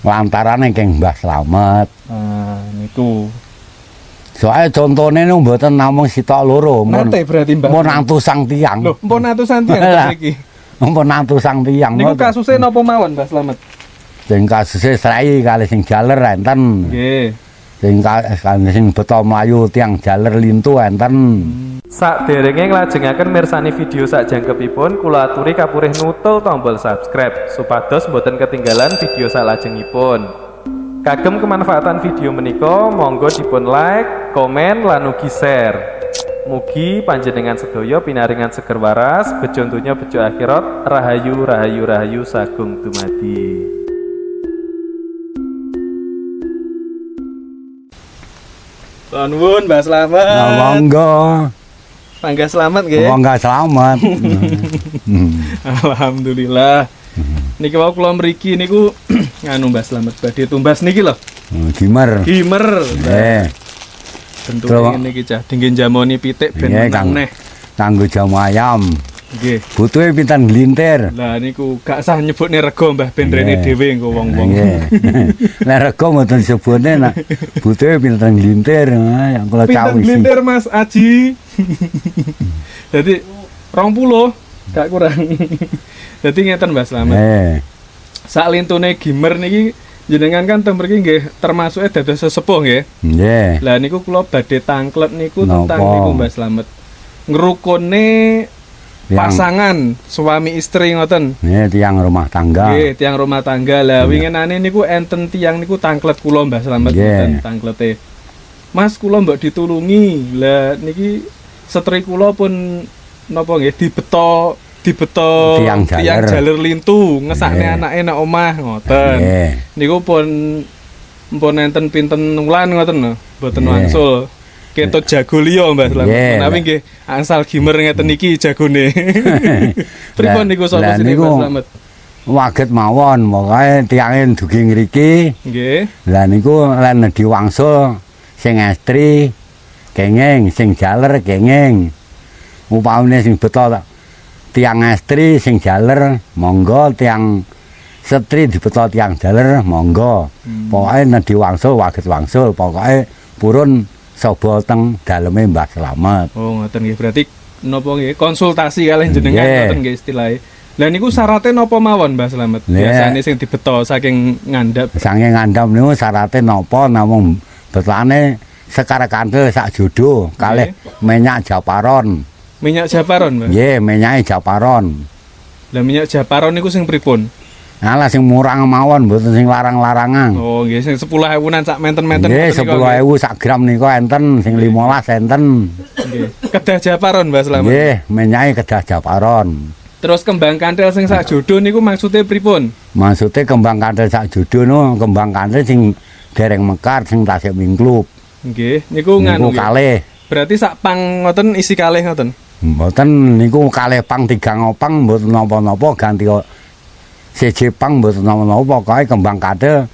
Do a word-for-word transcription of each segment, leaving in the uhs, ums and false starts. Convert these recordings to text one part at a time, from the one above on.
Lantarane keng Mbah Slamet. Ah, niku. Soale contone niku mboten namung sitok loro, Nate berarti Mbah. Mun atusang tiyang. Lho, mpun atusan tiyang iki. Mpun atusang tiyang. Niku kasuse napa mawon, Mbah Slamet? Sing kasuse srai kali sing jaler enten. Nggih. Sing sing beto mlayu tiyang jaler lintu enten. Sakderenge nglajengaken mirsani video sakjangkepipun, kula aturi kapurih nutul tombol subscribe supados boten ketinggalan video salajengipun. Kagem kemanfaatan video menika, monggo dipun like, komen, lan ugi share. Mugi panjenengan sedaya pinaringan seger waras, bejo donya bejo akhirat, rahayu rahayu rahayu sagung dumadi. Nuwun Mbah Slamet. Monggo. Mangga selamat nggih. Mangga selamat. Alhamdulillah. Niki wau kula mriki niku nganu Mbah Slamet badhe tumbas niki lho. Gimer. Gimer. Nggih. Bentuke niki cah dingge jamoni pitik ben menang neh. Kanggo jamu ayam. Nggih. Butuhe pinten glintir. Lah niku gak sah nyebutne rego Mbah ben rene dhewe engko wong-wong. Nggih. Lah rego mboten disebutne nak butuhe pinten glintir yang kula cawisi. Pinten glintir Mas Aji. Jadi rong puluh gak kurang. Jadi ngeten Mbah Slamet. Eh. Sak lintune Gimer niki jenengan kan teng mriki nggih termasuke dados sesepuh nggih. Nggih. Lah niku kula badhe tangklet niku tentang niku Mbah Slamet. Ngrukune pasangan suami istri ngoten. Nggih, tiang rumah tangga. Nggih, tiang rumah tangga. Lah winginane niku enten tiang niku tangklet kula Mbah Slamet ngoten tangklete. Mas kula mbok ditulungi. Lah niki setri kula pun napa nggih dibeto dibeto tiang tiang jaler lintu ngesakne anake nek omah ngoten. Niku pun mpun enten pinten wulan ngoten lho, mboten wangsul. Ketut jago liya Mbah Slamet. Menawi nggih angsal Gimer ngeten iki jagone. Pripun niku solusine Mbah Slamet? Waget mawon, pokoke tiange dugi ngriki. Nggih. Lah niku lan nedhi wangsul sing estri kenging, sing jaler kenging. Upamane sing beto tiang estri sing jaler monggo, tiang setri dibeto tiang jaler monggo. Hmm. Pokoke nedhi wangsul waget wangsul, pokoke purun sobo teng daleme Mbah Slamet. Oh, ngoten nggih. Berarti napa nggih konsultasi kalih jenengan ngoten nggih istilahe. Lah niku syaratnya napa mawon Mbah Slamet? Biasane sing dibeto saking ngandhap. Saking ngandhap niku syaratnya napa namung betane sekar kandel sak jodoh kalih minyak japaron. Minyak japaron, Mbah? Nggih, minyake japaron. Lah minyak japaron niku sing pripun? Alah sing murah mawon mboten sing larang-larangan. Oh, nggih sing sepuluh ewunan sak menten-menten. Nggih, sepuluh ewu sak gram niku enten, sing limolas enten. Nggih. Kedah japaron, Mbah Slamet. Nggih, minyake kedah japaron. Terus kembang kantil sing sak jodoh niku maksudnya pripun? Maksudnya kembang kantil sak jodoh niku kembang kantil sing dereng mekar sing tasik mingklup. Nggih, niku nganu. Niku kalih. Berarti sak pang ngoten isi kalih ngoten. Mboten niku kalih pang tiga ngopang mboten napa-napa ganti siji pang mboten napa-napa pokoke kembang kantil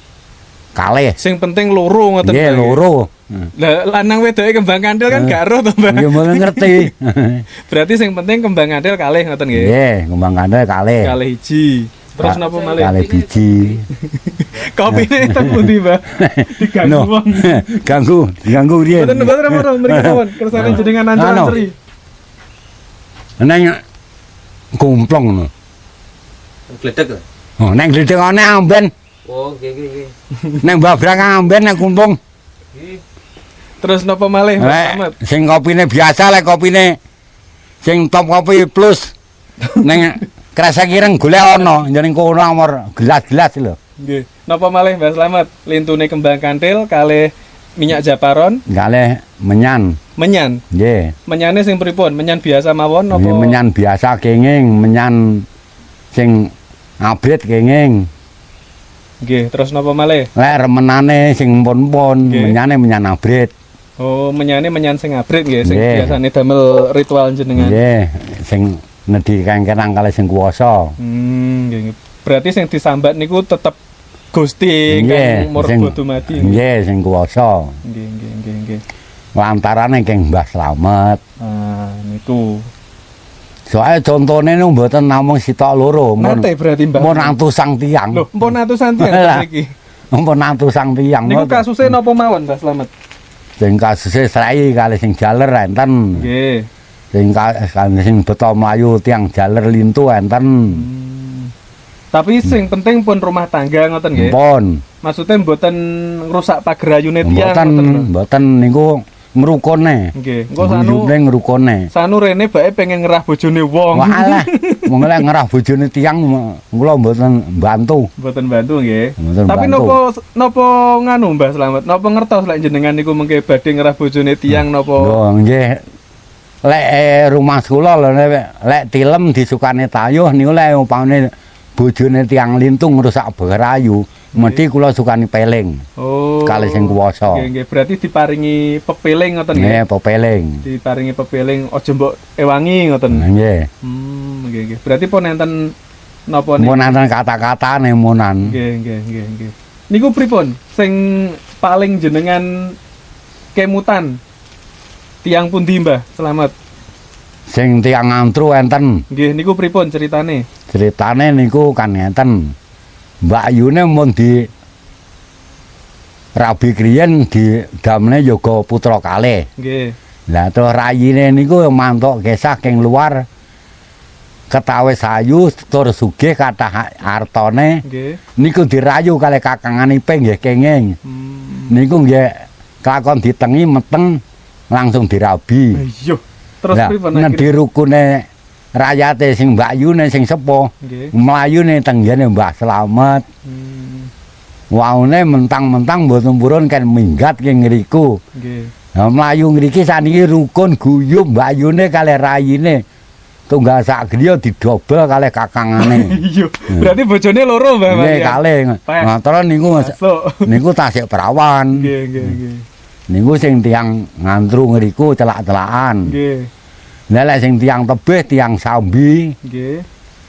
kalih. Sing penting loro ngoten. Nggih, loro. Lah lanang wedoke kembang kantil kan gak ero to, Mbah. Nggih, mboten ngerti. Berarti sing penting kembang kantil kalih ngoten nggih. Nggih, kembang kantil kalih. Kalih hiji. Terus napa malih? Kalih biji. Kopine teng pundi, Mbah? Diganggu wong. Ganggu, diganggu riyen. Mboten mboten mboten mriki mawon. Kersane jenengan ancur-ancuri. Neng kumplong ngono. Gledek. Oh, neng gledek ana amben. Oh, nggih nggih nggih. Neng babrang amben neng kumplong. Nggih. Terus napa malih, Mas? Sing kopine biasa lek kopine sing top kopi plus. Neng Krasa kireng golek ana njeneng kono amor gelas-gelas lho. Nggih. Napa malih Mbah Slamet? Lintune kembang kantil kalih minyak japaron, kalih menyan. Menyan. Nggih. Menyane sing pripun? Menyan biasa mawon napa? Nggih, menyan biasa kenging, menyan sing abrit kenging. Nggih, terus napa malih? Lek remenane sing pun-pun, menyane menyan abrit. Oh, menyane menyan sing abrit nggih, sing biasane damel ritual jenengan. Nggih, sing nedhi kengkenang kalih sing kuwasa. Hmm, nggih. Berarti sing disambat niku tetep Gusti Kang Murba Dumadi. Nggih, sing kuwasa. Nggih, nggih, nggih, nggih. Lantarane keng Mbah Slamet. Ah, niku. Soale contone niku mboten namung sitok loro, mun Nate berarti Mbah. mun atusang tiyang. Loh, mpun atusan tiyang Lah. mriki. Mun atusang tiyang. Niku kasuse napa mawon, Mbah Slamet? Sing kasuse srai kali sing jaler enten. Nggih. Sing ka- sing beto mlayu tiyang jaler lintu enten. Hmm. Tapi sing penting pun rumah tangga ngoten nggih. Pun. Maksudnya mboten ngrusak pagerayune tiyang Mboten ngoten lho. mboten niku ngrukone. Nggih, engko sanu Guyubne ngrukone. sanu rene bae pengen ngerah bojone wong. Walah, wong lek ngerah bojone tiyang kula mboten bantu. Mboten bantu nggih. Mboten Tapi bantu. napa napa nganu Mbah Slamet? Napa ngertos lek jenengan niku mengke badhe ngerah bojone tiyang napa? Lho nggih. Lek eh, rumah kula lho nek- lek tilem disukane tayuh niku lek umpamane bojone tiyang lintung ngrusak berayu, mesti kula sukani peling. Oh. Kali sing kuwasa. Nggih, nggih. Berarti diparingi pepeling ngoten nggih. Nggih, pepeling. Diparingi pepeling aja mbok ewangi ngoten. Nggih. Hmm, nggih, nggih. Berarti pun enten napa niku? Mun enten kata-katane munan. Nggih, nggih, nggih, nggih. Niku pripun sing paling jenengan kemutan? Tiang pundi Mbah Slamet? Sing tiyang antru enten. Nggih, niku pripun ceritane? Ceritane niku kan ngeten. Mbak Yune mun di Rabi kriyen di damne Yoga Putra kalih. Nggih. Lah terus rayine niku mantuk gesah king luar ketawis ayu tur sugih kathah artane Nggih. niku dirayu kalih kakanganiping nggih kenging. Hmm. Niku nggih kakon ditengi meteng langsung dirabi. Iya. Terus Lah pripun nek akhirnya? dirukune rakyate sing Mbak Yune sing sepuh Nggih. mlayune tenggene Mbah Slamet. Hmm. Waune mentang-mentang mboten purun kan minggat king ngriku. Nggih. Nah, mlayu ngriki saniki rukun guyub Mbak Yune kalih rayine. Tunggal sak griya didobel kalih kakangane. Iya. Berarti bojone loro Mbah. Nggih kalih. Peh. Nah, terus niku Masuk. niku tasik perawan. Nggih, nggih, nggih. Niku sing tiyang ngantru ngriku celak-celakan. Nggih. Lah lek sing tiyang tebih tiyang sambi Nggih.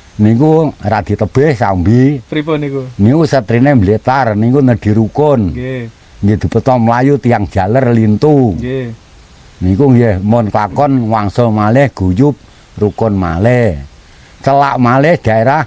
niku ra ditebih sambi. Pripun niku? Niku setrine mbletar niku nedhi rukun. Nggih. Nggih dibeto mlayu tiyang jaler lintu. Nggih. Niku nggih mun kakon wangsul malih guyub rukun malih. Celak malih daerah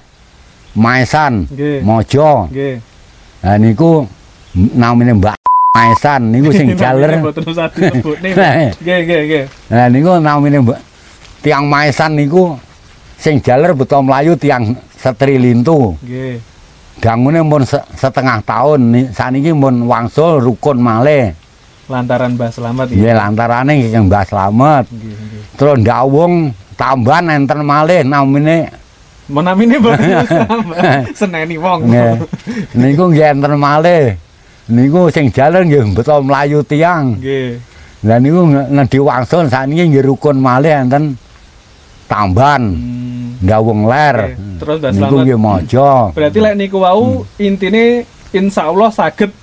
Maesan, Nggih. Mojo. Nggih. Lah niku namine Mbak Maesan niku sing jaler. Mboten usah disebutne. Nggih, nggih, nggih. Lah niku namine Mbak tiang Maesan niku sing jaler beto mlayu tiang setri lintu. Nggih. Dangune mun se- setengah tahun ni- saniki mun wangsul rukun malih. Lantaran Mbah Slamet Nggih lantarane nggih Mbah Slamet. Nggih, nggih. Terus ndawung tambahan enten malih namine Menamine Mbah Slamet. Seneni wong. nggih. Niku nggih enten malih. Niku sing jaler nggih beto mlayu tiang. Nggih. Lah niku nedhi wangsul saniki nggih rukun malih enten tambahan. Hmm. Ndawung ler. Oke, terus Mbah Niku Slamet. nggih maja. Berarti lek niku wau intine insyaallah saged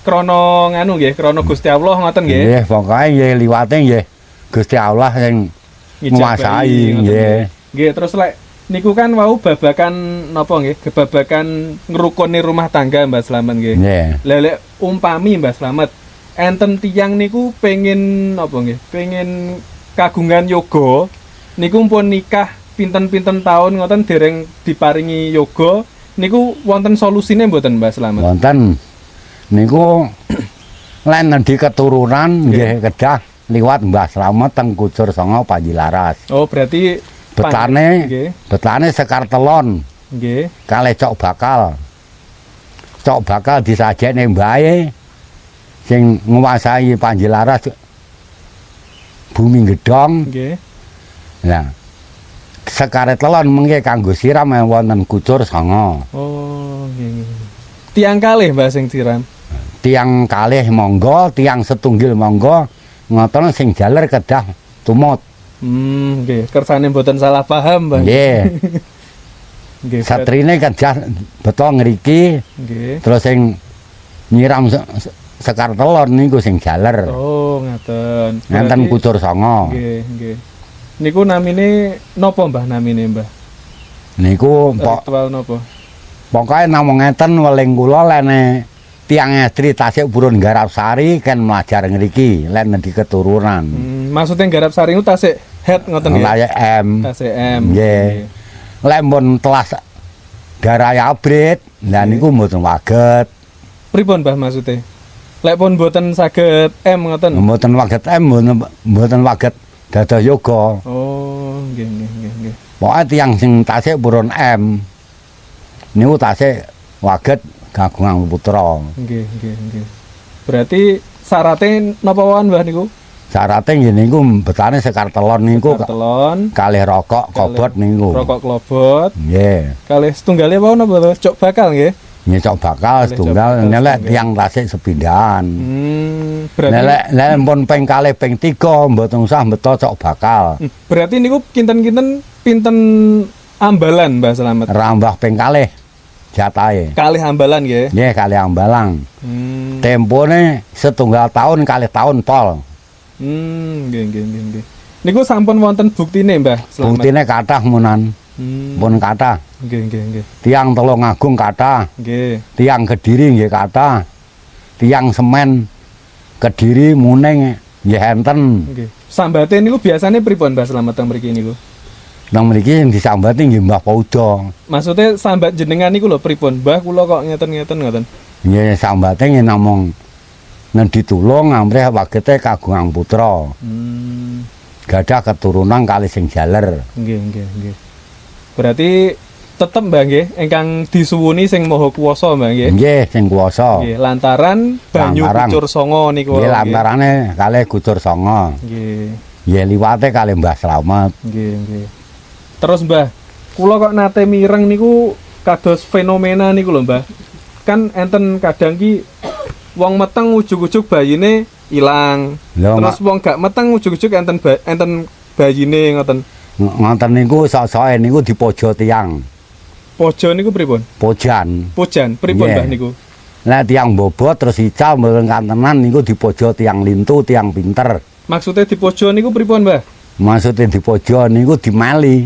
krana nganu nggih, krana Gusti Allah ngoten nggih. Nggih, pokoke nggih liwate nggih Gusti Allah sing Ngijabahi, nguasai ngoten nggih. Nggih, terus lek niku kan wau babakan napa nggih? Babakan ngrukuni rumah tangga Mbah Slamet nggih. Nggih. Lah lek umpami Mbah Slamet enten tiyang niku pengen napa nggih? Pengen kagungan yoga niku pun nikah pinten-pinten tahun ngoten dereng diparingi yoga niku wonten solusine mboten Mbah Slamet? Wonten niku lan nedhi keturunan nggih kedah liwat Mbah Slamet teng Kucur Songo Panjilaras. Oh, berarti Betane nggih. betane Sekar Telon Nggih. kalih Cok Bakal. Cok Bakal disajekne mbahe sing nguasai Panjilaras Bumi Gedhong. Nggih. Nah, Sekar Telon mengke kanggo siram wonten Kucur Songo. Oh, nggih. nggih. Tiang kalih Mbah sing siram. Tiang kalih monggo, tiang setunggil monggo, ngoten sing jaler kedah tumut. Hmm, nggih. Kersane mboten salah paham, Mbah. Nggih. Nggih. berarti- Satrine kedah beto ngriki, Nggih. terus sing nyiram se- se- Sekar Telon niku sing jaler. Oh, ngaten. Ngenten Berarti- Kucur Songo. Nggih, nggih. Niku namine napa Mbah namine Mbah? Niku pok Ritual napa? pokoke namung ngeten weling kula lene tiang estri tasik purun garap sari kan melajar ngriki lan di keturunan. Hmm, maksudnya garap sari itu tasik head ngoten nggih. Tasik M. Tasik M. Nggih. Lek mun telas darai abrit, lah niku mboten waget. Pripun Mbah maksudnya? Lek pun mboten saged M ngoten. Mboten waget M, mboten mboten waget dados yoga. Oh, nggih nggih nggih nggih. Pokoke tiyang sing tasik purun M niku tasik waget kagungan putra. Nggih nggih nggih. Berarti syaratnya napa wae Mbah niku? Syaratnya nggih niku betane sekar telon niku telon, kalih rokok kobot niku. Rokok klobot. Nggih. Kalih setunggalé wau napa to? Cok bakal nggih. Nyecok bakal setunggal nelek tiang tasik sepindahan. Hmm, berarti nelek nelek pun ping kalih ping tiga mboten usah beto cok bakal. Hmm, berarti niku kinten-kinten pinten ambalan Mbah Slamet. Rambah ping kalih jatahe. Kalih ambalan nggih. Nggih kalih ambalang. Hmm. Tempone setunggal tahun kalih tahun pol. Hmm, nggih nggih nggih nggih. Niku sampun wonten buktine Mbah Slamet. Buktine kathah munan. Hmm. Pun kathah. Nggih nggih nggih. Tiang Tulungagung kathah. Nggih. Tiang Kediri nggih kathah. Tiang Semen Kediri Muning nggih enten. Nggih. Sambate niku biasane pripun Mbah Slamet teng mriki niku? Nang mriki sing disambati nggih Mbah Pauda. Maksudnya sambat jenengan niku lho pripun? Mbah kula kok ngeten-ngeten ngoten. Nggih sambate nggih namung ngendi tulung amrih wagete kagungan putra. Hmm. Gadah keturunan kali sing jaler. Nggih nggih nggih. Berarti tetep Mbah nggih ingkang disuwuni sing Maha Kuwasa Mbah nggih. Nggih sing kuwasa. Nggih, lantaran banyu Lantaran. Kucur Songo niku. Nggih lantarane kalih Kucur Songo. Nggih. Nggih liwate kalih Mbah Slamet. Nggih nggih. Terus Mbah, kula kok nate mireng niku kados fenomena niku lho Mbah. Kan enten kadang ki wong meteng ujug-ujug bayine ilang. Lho, Terus wong gak meteng ujug-ujug enten ba enten bayine ngoten. Ngoten niku sok-soke niku dipojo tiang. Pojo niku pripun? Pojan. Pojan, pripun Nggih. Mbah niku? Lah tiang bobot terus ical mboten kantenan niku dipojo tiang lintu, tiang pinter. Maksudnya di pojo niku pripun Mbah? Maksudnya dipojo niku dimali,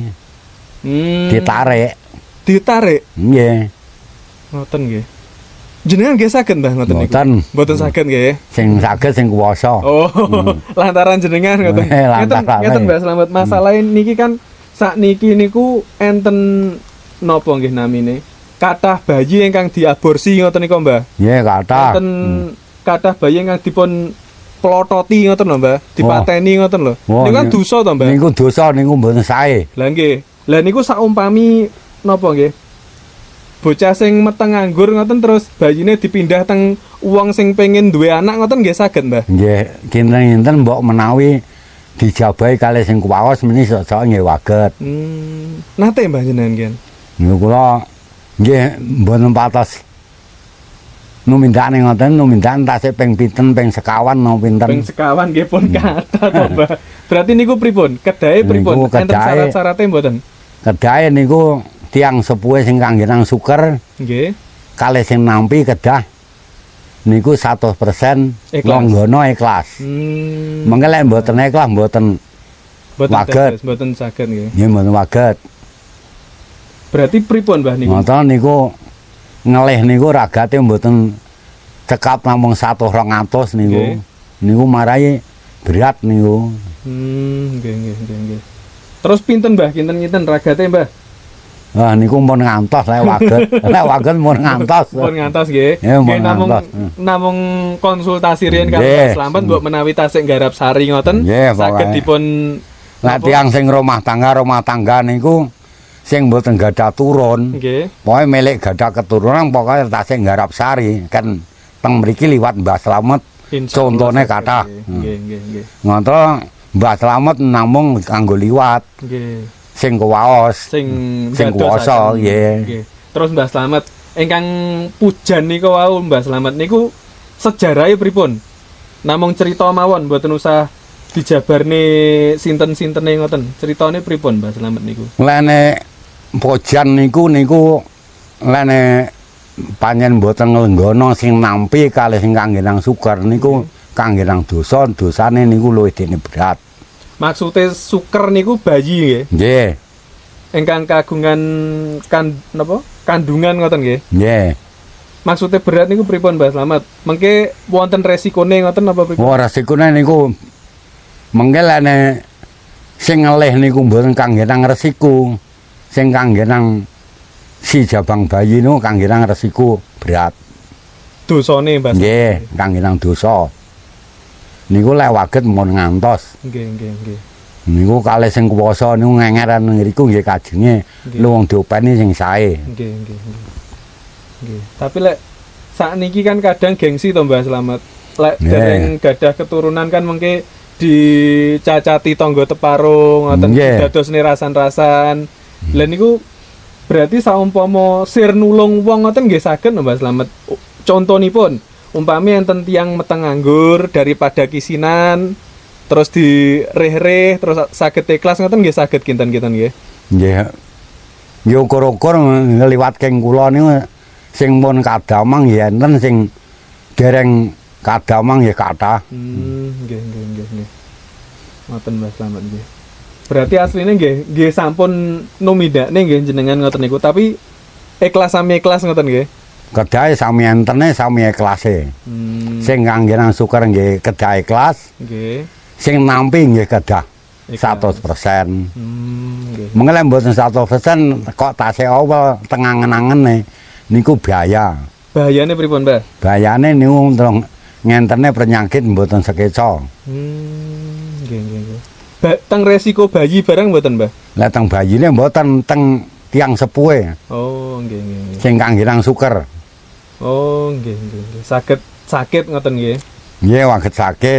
Hmm. ditarik. Ditarik. Nggih. Ngoten nggih. Jenengan nggih saged Mbah ngoten niku? Mboten. Mboten saged nggih. Sing saged sing kuwasa. Oh, lantaran jenengan ngoten. Eh, Ngeten lantaran. ngeten Mbah Slamet, masalah niki kan sakniki niku enten napa nggih namine? Kathah bayi ingkang diaborsi ngoten niku Mbah. Nggih kathah. Enten kathah bayi ingkang dipun plototi ngoten lho Mbah, dipateni ngoten lho. Wah, Niku kan niku- dosa to Mbah. Niku dosa niku mboten sae. Lah nggih. Lah niku saumpami napa nggih? Bocah sing meteng nganggur ngoten terus bayine dipindah teng wong sing pengen duwe anak ngoten nggih saged Mbah. Nggih, kinten-kinten mbok menawi dijabahi kalih sing kuwaos meni sok-sok nggih waget. Hmm, nate Mbah jenengan nggih. Niku kula nggih mboten patos numindakne ngoten, numindakan tasik ping pinten, ping sekawan napa pinten. Ping sekawan nggih pun kathah to Mbah. Berarti niku pripun? Kedahe pripun? Niku Enten kedahe- syarat-syarate mboten? Kedahe niku tiang sepuhe sing kangge nang suker Nggih. kalih sing nampi kedah niku seratus persen Ikhlas. longgana ikhlas. Hmm. Mengke lek mboten ikhlas mboten Mboten waget. dados, mboten saged nggih. nggih mboten waget. Berarti pripun Mbah niku? Ngoten niku ngelih niku ragate mboten cekap namung seratus rong atus niku. Nggih. Niku marai berat niku. Hmm, nggih nggih nggih nggih. Terus pinten Mbah? Kinten-kinten ragate Mbah? Wah niku mun ngantos lek waget. Lek waget mun ngantos. Pun ngantos nggih. Ya, Nggih mun namung ngantos. namung konsultasi riyen karo Nggih. Mbah Slamet mbok menawi tasik garap sari ngoten Nggih, saged pokoke. dipun Lek tiyang sing rumah tangga rumah tangga niku sing mboten gadah turun. nggih. Pokoke milik gadah keturunan pokoke tasik garap sari kan teng mriki liwat Mbah Slamet. Insyaallah Contone saged, kathah. nggih. Nggih nggih nggih. Ngoten Mbah Slamet namung kanggo liwat Nggih. sing kuwaos. Sing Sing dadosaken. kuwasa, nggih. Nggih. Terus Mbah Slamet ingkang pujan niku wau Mbah Slamet niku sejarahe pripun? Namung cerita mawon mboten usah dijabarne sinten-sintene ngoten. Critane pripun Mbah Slamet niku? Lene pojan niku niku lene panjen mboten nglenggana sing nampi kalih sing kangge nang suker niku kangge nang dosa, dosane niku luwih dene berat. Maksude suker niku bayi nggih. Nggih, Ingkang kagungan kan napa? Kandungan ngoten nggih. nggih. maksudnya berat niku pripun Mbah Slamet? Mengke wonten resikone ngoten apa pripun? Oh, resikone niku mengke lene sing ngelih niku mboten kangge nang resiko. Sing kangge nang si jabang bayi niku kangge nang resiko berat. Dosane Mbah. Nggih, kangge nang dosa. Niku lek waget mun ngantos. Nggih, nggih, nggih. Niku kalih sing kuwasa niku ngengeran ngriku nggih kajenge lu wong diopeni sing sae. Nggih, nggih, nggih. Nggih. Tapi lek sakniki kan kadang gengsi to Mbah Slamet. Lek dereng gadah keturunan kan mengke dicacati tangga teparung ngoten dadosne rasan-rasan. Lah niku berarti saumpama sir nulung wong ngoten nggih saged Mbah Slamet. Contonipun umpami enten tiyang meteng nganggur daripada kisinan terus direh-reh terus saged ikhlas ngoten nggih saged kinten-kinten nggih. Nggih. Yo ukur-ukur ngliwat keng kula niku sing pun kadamang ya enten sing dereng kadamang ya kathah. Hmm, nggih nggih nggih nggih. Ngoten Mbah Slamet nggih. Berarti asline nggih nggih sampun numidakne nggih jenengan ngoten niku tapi ikhlas sami ikhlas ngoten nggih. Kedahe sami entene sami ikhlase. Hmm. Sing kangge nang syukur nggih kedah ikhlas. Nggih. Sing nampi nggih kedah seratus persen. Hmm, nggih. Mengele mboten seratus persen kok tasih awal tengangen-angene niku bahaya. Bahayane pripun, Mbah? Bahayane niku terus ngentene penyakit mboten sekeca. Hmm, nggih nggih nggih. Ba teng resiko bayi barang mboten, Mbah? Lah teng bayine mboten teng tiang sepuhe. Oh, nggih nggih nggih. Sing kangge nang syukur. Oh, nggih nggih nggih. Saged sakit ngoten nggih. Nggih, waget sakit.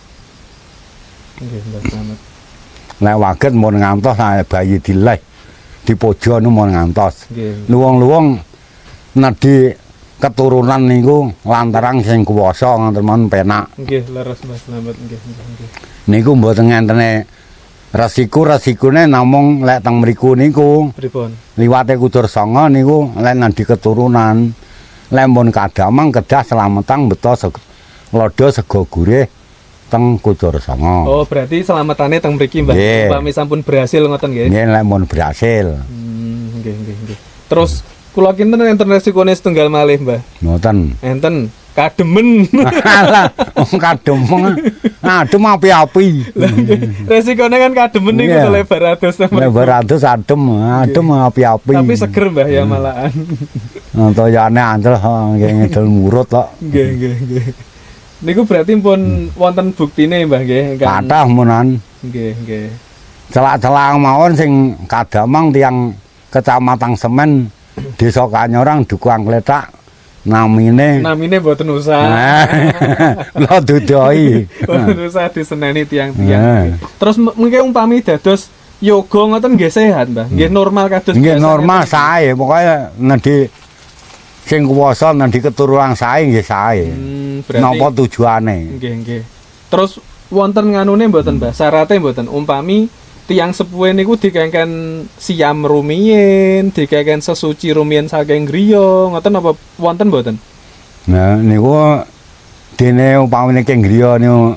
Nggih, Mbah Slamet. Nek waget mun ngantos bayi dileh dipojo nu mun ngantos. Nggih. Luwung-luwung nedhi keturunan niku lantaran sing kuwasa ngoten men penak. Nggih, leres Mbah Slamet nggih nggih nggih. Niku mboten ngentene resiko-resikone namung lek teng mriku niku Pripun? liwate kudur sanga niku lek nedhi keturunan. Lek mun kadamang kedah slametang beto lodo sego gurih teng kudur sanga. Oh, berarti selamatane teng mriki, Mbah. Upami sampun berhasil ngoten nggih. Nggih, lek mun berhasil. Hmm, nggih nggih nggih. Terus kula kinten enten resikone setunggal malih, Mbah. Mboten. Enten kademen. Alah, wong kademeng. Adem api-api. Resikone kan kademen niku Yeah. lebar atus. Lebar atus adem, adem api-api. Tapi seger, Mbah, ya malahan. Toyane ancel nggih ngidul murut kok. Nggih nggih nggih. Niku berarti pun wonten buktine, Mbah nggih. Kathah munan. Nggih nggih. Celak-celak mawon sing kadamang tiang Kecamatan Semen Desa Kanyorang Duku Angkletak namine Namine mboten usah. Lo dudoi. Mboten usah diseneni tiang-tiang. Terus mengke umpami dados yoga ngoten nggih sehat, Mbah. Nggih normal kados Nggih normal sae, pokoke nedhi sing kuwasa nedhi keturunan sae nggih sae. Hmm, berarti Napa tujuane? nggih nggih. Terus wonten nganune mboten, Mbah? Syaratnya mboten umpami tiang sepuhe niku dikengken siam rumiyin, dikengken sesuci rumiyin saking griya, ngoten apa wonten mboten? Nah niku dene upamane keng griya niku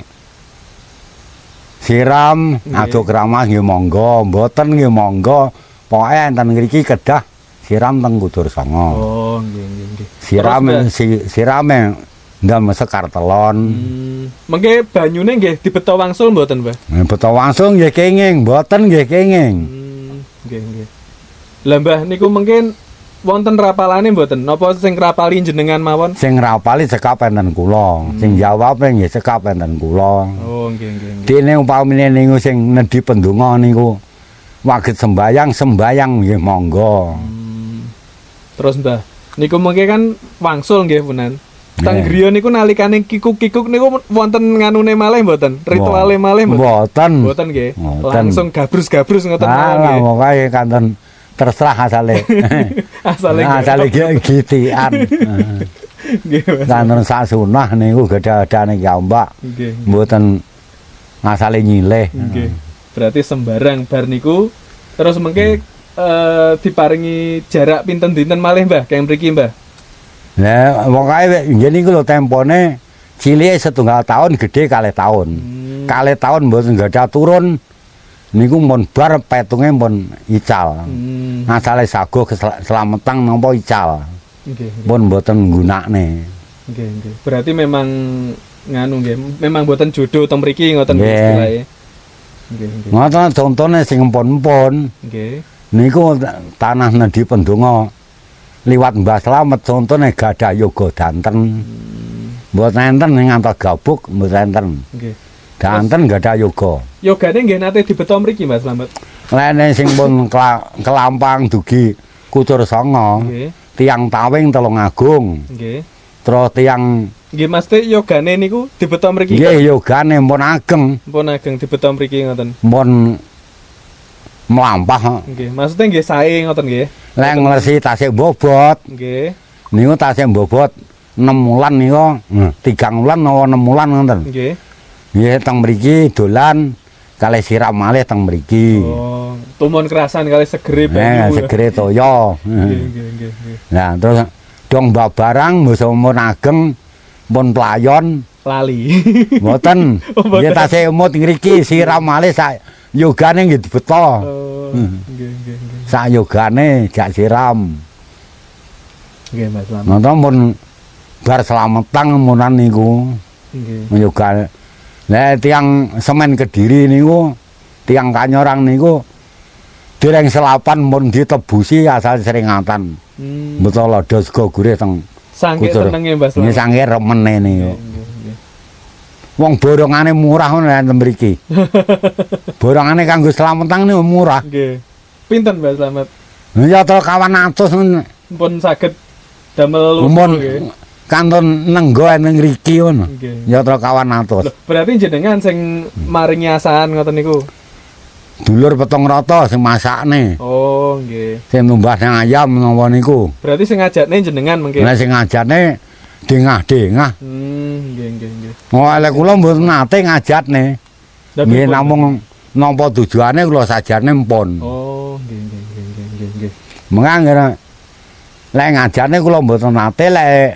siram ado keramas nggih monggo, mboten nggih monggo. Pokoke enten ngriki kedah siram teng kudur sanga. Oh, nggih nggih nggih. Siram si, sirame ndam sekar telon. Hmm, mengke banyune nggih dibeto wangsul mboten, Mbah? Nah, beto langsung nggih kenging, mboten nggih kenging. Hmm, nggih nggih. Lah Mbah niku mungkin wonten rapalane mboten? Napa sing rapali jenengan mawon? Sing rapali cekap enten kula, Hmm. sing jawabe nggih cekap enten kula. Oh, nggih nggih nggih. Dene upamine niku sing nedhi pendonga niku waget sembayang, sembayang nggih monggo. Hmm. Terus Mbah, niku mengke kan wangsul nggih punan. Teng Nggih. griya niku nalikane kikuk-kikuk niku wonten nganune malih mboten? Rituale malih mboten? Mboten. Mboten nggih. Mboten. Langsung gabrus-gabrus ngoten mawon Alah, nggih. pokoke kanten terserah asale. Asale asale gitian. nggih. Mas. Kanten sak sunah niku gedhe-gedhane kiambak. Nggih. Mboten asale nyilih. Nggih. Berarti sembarang bar niku terus mengke eh, diparingi jarak pinten dinten malih, Mbah, kaya mriki, Mbah. Lah pokoke nggih niku lho tempone cilike setunggal tahun, gedhe kalih tahun. Hmm. Kalih tahun mboten gadah turun niku mun bar petunge mun ical. Hmm. Asale sago kesel- selametang napa ical. Nggih, nggih. pun mboten nggunakne. Nggih, nggih. Berarti memang nganu nggih, memang mboten jodoh teng mriki ngoten Nggih. istilahe. Nggih, nggih. Ngoten contone sing empun-empun Nggih. niku tanah nedhi pendonga liwat Mbah Slamet contone gadah yoga danten. Mboten enten ngantos gabuk mboten enten. Nggih. Danten gadah yoga. Yogane nggih nate dibeto mriki Mas Slamet. Lene sing pun kela- kelampang dugi Kucur Sanga, Nggih. tiang Tawing Telung Agung. Nggih. Terus tiang Nggih Mas Teh yogane niku dibeto mriki. nggih yogane pun ageng, Pun ageng dibeto mriki ngoten. pun mlampah. Nggih. Maksudnya nggih sae ngoten nggih. Lek nglesi tasik bobot, Nggih. niku tasik bobot enam wulan niku, tiga wulan utawa enam wulan ngoten. Nggih. Nggih teng mriki dolan kalih siram malih teng mriki. Oh, tumun kerasan kali segere Eh, banyu. segere toya. Nggih, nggih, nggih, nggih. Nah, terus dong babarang musa mun ageng pun playon Lali. mboten. Oh, mboten. Nggih tasih umut ngriki siram malih sak yogane nggih dibeto. Oh, Hmm. nggih, nggih, nggih. Sak yogane jak siram. Nggih, Mas Slamet. Nonton pun bar slametang munan niku Nggih. yoga. Lah tiang semen Kediri niku, tiang Kanyorang niku dereng selapan mun ditebusi asal seringatan. Hmm. Betul lada sego gurih teng Sangke Kucur. senenge Mas Ini Slamet. sange remene niku. Nggih, nggih, nggih. Wong borongane murah ngono enten mriki. Borongane kanggo slametang niku murah. Nggih. Pinten Mas Slamet? Ya to kawan atus Pun saged damel umpun lumpur nggih. kanton nenggo ning ngriki ngono. Nggih. Ya to kawan atus. Loh, berarti jenengan sing maringi asahan ngoten niku. Dulur petong rata sing masakne. Oh, nggih. Sing numbah nang ayam napa niku. Berarti sing ngajakne jenengan mengke. Lah sing ngajane dengah-dengah. Hmm, nggih, nggih, nggih. Oh, lek kula mboten nate ngajatne. Lah, Nggih pripun? namung nampa tujuane kula sajane mpun. Oh, nggih, nggih, nggih, nggih, nggih, nggih. Mengangger lek ngajane kula mboten nate lek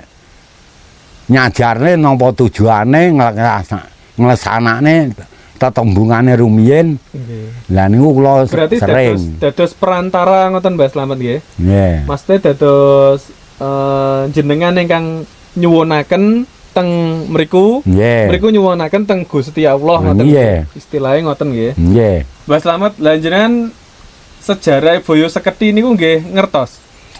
nyajarne nampa tujuane nglesanakne tetembungane rumiyin. Nggih. Lah niku kula Berarti dados sering. dados perantara ngoten Mbak Slamet nggih. Nggih. Maksudnya dados eh, jenengan ingkang nyuwunaken teng mriku, Nggih. mriku nyuwunaken teng Gusti Allah ngoten. Nggih. nggih. Istilahnya ngoten nggih. Nggih. Mbak Slamet, lah jenengan sejarah Boyo Seketi niku nggih ngertos.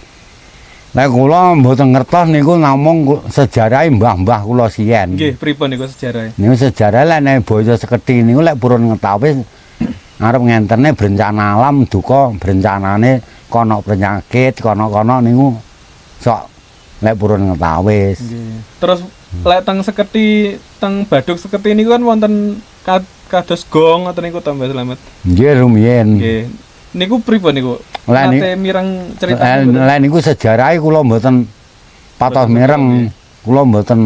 Lek kula mboten ngertos niku namung ku- sejarahe mbah-mbah kula siyen. Nggih, pripun niku sejarah? Niku sejarah lek nek Boyo Seketi niku lek purun ngetawis arep ngentene berencana alam duka berencanane kono penyakit kono-kono niku sok lek purun ngetawis. Nggih. Terus lek teng Seketi, teng Baduk Seketi niku kan wonten ka- kados gong ngoten niku to Mbak Slamet. Nggih rumiyin. Nggih. Niku pripun niku? Lah, ni- Nate mireng cerita Lek niku. lek niku sejarahe kula mboten patos Mboten mireng. ngerti. Kula mboten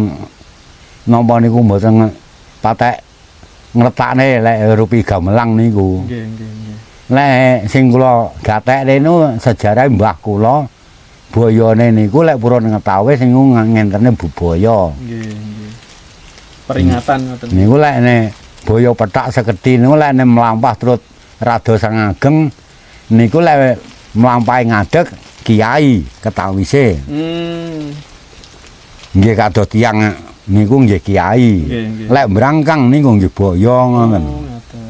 napa niku mboten nge- patek ngletakne lek rupi gamelang niku. Nggih, nggih, nggih. Lek sing kula gatekne niku sejarah mbah kula boyone niku lek purun ngetawis niku ngentene bubaya. Nggih, nggih. Peringatan ngoten. Niku lek ne boyo petak Seketi niku lek ne mlampah terus rada sang ageng niku lek mlampahi ngadeg kiai ketawise. Hmm. Nggih kados tiyang niku nggih kiai. Nggih, nggih. Lek brangkang niku nggih boyo ngoten. Oh, ngoten.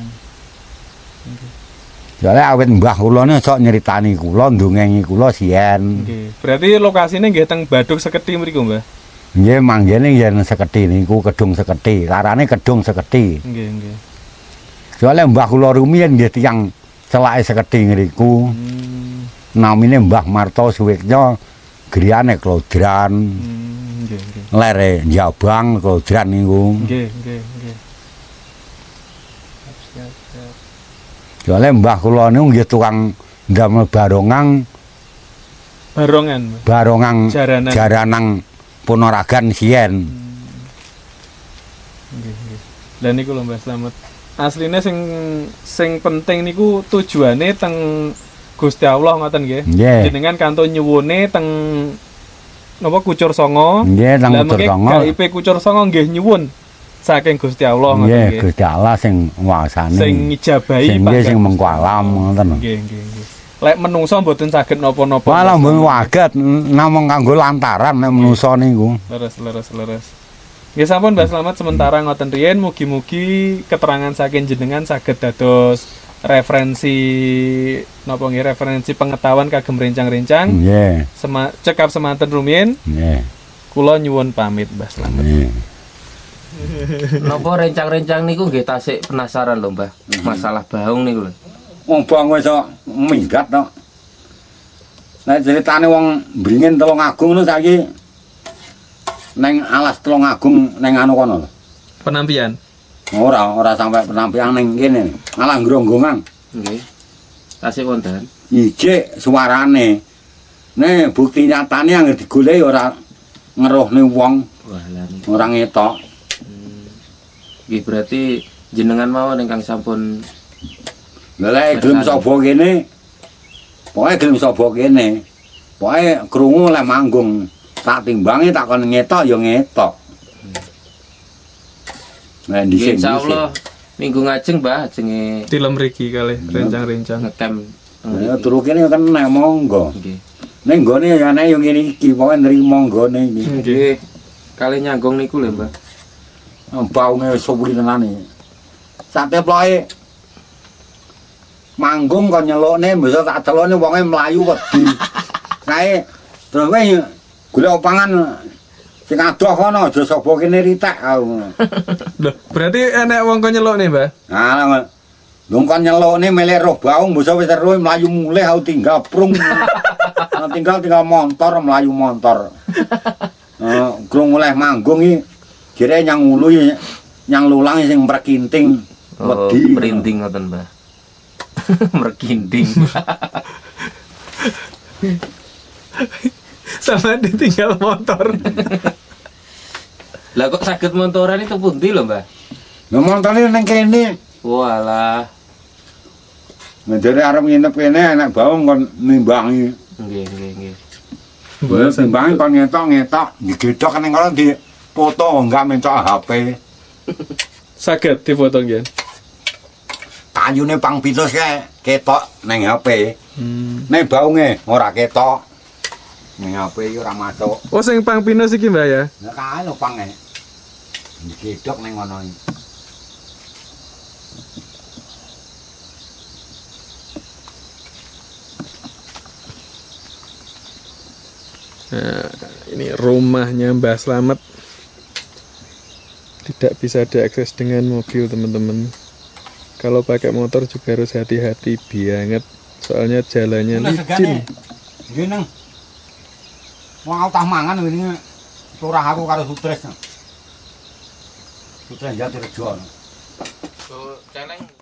Soale awit mbah kula niku sok nyeritani kula ndongengi kula siyen. Nggih. Berarti lokasine nggih teng Baduk Seketi mriku, Mbah. Nggih manggene yen Seketi niku Kedung Seketi, larane Kedung Seketi. Nggih, nggih. Soale mbah kula rumiyin nggih tiyang celake Seketi ngriku. Hmm. Namine Mbah Marto Suwiknya griyane Klodran. Hmm, nggih, nggih. Lere Jabang Klodran niku. Nggih, nggih, nggih. Siap, siap. Soale mbah kula niku nggih tukang ndamel barongang, Barongan, Mbah. barongang Jaranan. jaranang Ponorogan siyen. Nggih, nggih. Lah niku lho Mbah Slamet. Asline sing sing penting niku tujuane teng Gusti Allah ngoten nggih. Nggih. Jenengan kantun nyuwune teng napa Kucur Sanga. Nggih teng Lah Kucur mengke Sanga. K I P Kucur Sanga nggih nyuwun saking Gusti Allah ngoten Nggih, nggih. Gusti Allah sing nguasani. Sing ngijabahi Sing nggih sing mengko alam ngoten. Nggih, nggih, nggih. Lek menungso mboten saged napa-napa. Walah mboten waget namung kanggo lantaran nek menungso niku. Leres leres leres. Nggih sampun Mbah Slamet sementara ngoten riyen mugi-mugi keterangan saking jenengan saged dados referensi napa nggih referensi pengetahuan kagem rencang-rencang. Nggih. Sema, cekap semanten rumiyin. Nggih. Kula nyuwun pamit Mbah Slamet. Nggih. Napa rencang-rencang niku nggih tasik penasaran lho, Mbah. Masalah baung niku lho. Wong bang wis minggat to. Nek ceritane wong bringin Telung Agung ngono saiki neng alas Telung Agung neng anu kono lho. Penampian. Ora, ora sampai penampian ning kene. Malah ngronggongan. Nggih. Tasik wonten. Ijik suarane. Nek bukti nyatane anggere digoleki ora ngeruhne wong, Wah, lan. ora ngetok. Nggih berarti jenengan mawon ingkang sampun Lah lek gelem sapa kene. Pokoke gelem sapa kene. Pokoke krungu lek manggung tak timbangi tak kon ngetok ya ngetok. Nah dhisik. insyaallah minggu ngajeng Mbah ajenge Tilem mriki kalih rencang-rencang. ngecamp. Ya turu kene kan nek monggo. Nggih. Ning nggone ya nek yo ngene iki pokoke nrimo nggone iki. Nggih. Kali nyanggung niku lho, Mbah. Baunge suwi tenane. Sate ploke manggung kok nyelukne bisa tak celukne wonge mlayu wedi. Kae terus kowe golek opangan sing adoh kono aja sapa kene ritek aku. Lho, berarti enek wong kok nyelukne, Mbah? Ah, lho kon nyelukne melek roh baung bisa wis terus mlayu mulih aku tinggal prung. tinggal tinggal montor mlayu montor. Eh, krung oleh manggung iki jere nyang ulu nyang lulang sing mrekinting Oh, wedi. merinding ngoten, Mbah. Merkinding. Sama ditinggal motor. Lah kok saged montoran itu pundi lho, Mbah? Lah montore ning kene. Walah. Ngene arep nginep kene enak baung kon nimbangi. Nggih, nggih, nggih. Mbok timbangi kon ngetok-ngetok digedhok ning kono di foto enggak mencok H P. Saged difoto nggih. Kayune pang pitus kae ketok ning H P. Hmm. Ning baunge ora ketok. Ning H P iki ora masuk. Oh sing pang pinus iki Mbah ya. Lah kae lho pange. Digedhok ning ngono iki. Nah, ini rumahnya Mbah Slamet. Tidak bisa diakses dengan mobil, teman-teman. Kalau pakai motor juga harus hati-hati banget. Soalnya jalannya licin. Nggih nang. Wong aku tah mangan wingi turah aku karo Sutres. Sutres Jatirejo. So, celeng